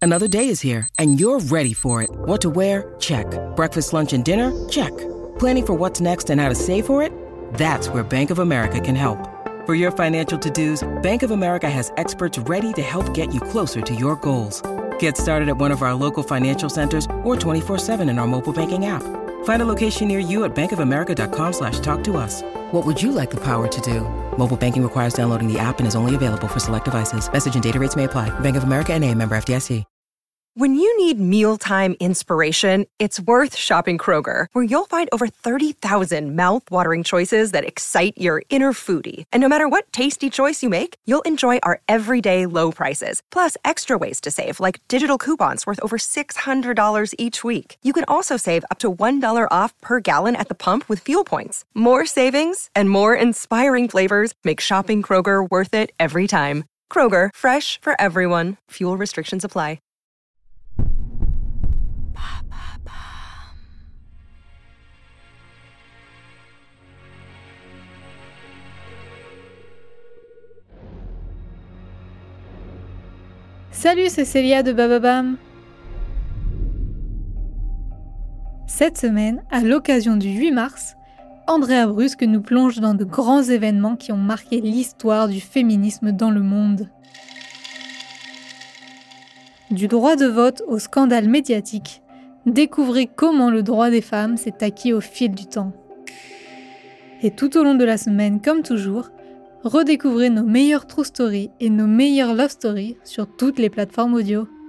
Another day is here, and you're ready for it. What to wear? Check. Breakfast, lunch, and dinner? Check. Planning for what's next and how to save for it? That's where Bank of America can help. For your financial to-dos, Bank of America has experts ready to help get you closer to your goals. Get started at one of our local financial centers or 24/7 in our mobile banking app. Find a location near you at bankofamerica.com/talktous. What would you like the power to do? Mobile banking requires downloading the app and is only available for select devices. Message and data rates may apply. Bank of America N.A., member FDIC. When you need mealtime inspiration, it's worth shopping Kroger, where you'll find over 30,000 mouth-watering choices that excite your inner foodie. And no matter what tasty choice you make, you'll enjoy our everyday low prices, plus extra ways to save, like digital coupons worth over $600 each week. You can also save up to $1 off per gallon at the pump with fuel points. More savings and more inspiring flavors make shopping Kroger worth it every time. Kroger, fresh for everyone. Fuel restrictions apply. Salut, c'est Célia de Bababam. Cette semaine, à l'occasion du 8 mars, Andrea Brusque nous plonge dans de grands événements qui ont marqué l'histoire du féminisme dans le monde. Du droit de vote au scandale médiatique, découvrez comment le droit des femmes s'est acquis au fil du temps. Et tout au long de la semaine, comme toujours, redécouvrez nos meilleures true stories et nos meilleures love stories sur toutes les plateformes audio.